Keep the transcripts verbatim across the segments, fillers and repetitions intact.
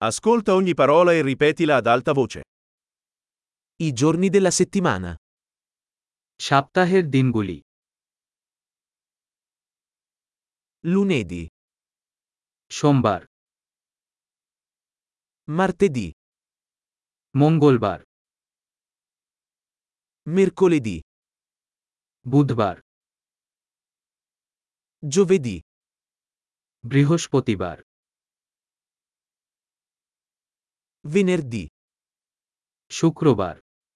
Ascolta ogni parola e ripetila ad alta voce. I giorni della settimana. সপ্তাহের দিনগুলি। Lunedì, সোমবার, martedì, মঙ্গলবার, mercoledì, বুধবার, giovedì, বৃহস্পতিবার, venerdì, শুক্রবার,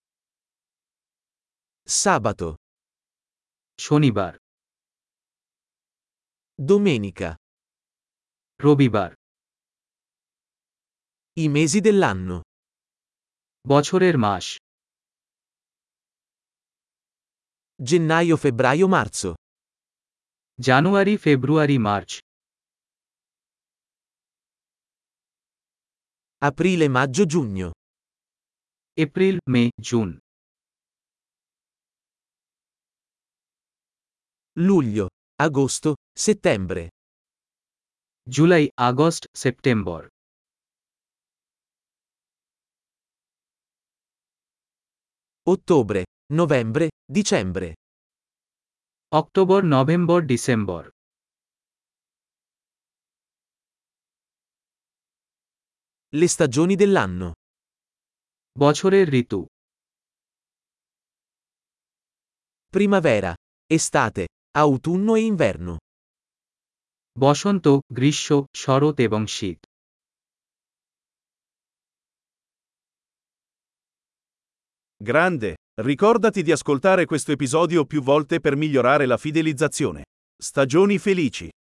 sabato, শনিবার, domenica. রবিবার। I mesi dell'anno. বছরের মাস: Gennaio, febbraio, marzo. জানুয়ারি, ফেব্রুয়ারি, March, Aprile, maggio, giugno. April, মে, June, Luglio, agosto, settembre. July, August, September. Ottobre, novembre, dicembre. October, November, December. Le stagioni dell'anno. বছরের ঋতু: Primavera, estate, autunno e inverno. বসন্ত, গ্রীষ্ম, শরৎ এবং শীত। Grande! Ricordati di ascoltare questo episodio più volte per migliorare la fidelizzazione. Stagioni felici!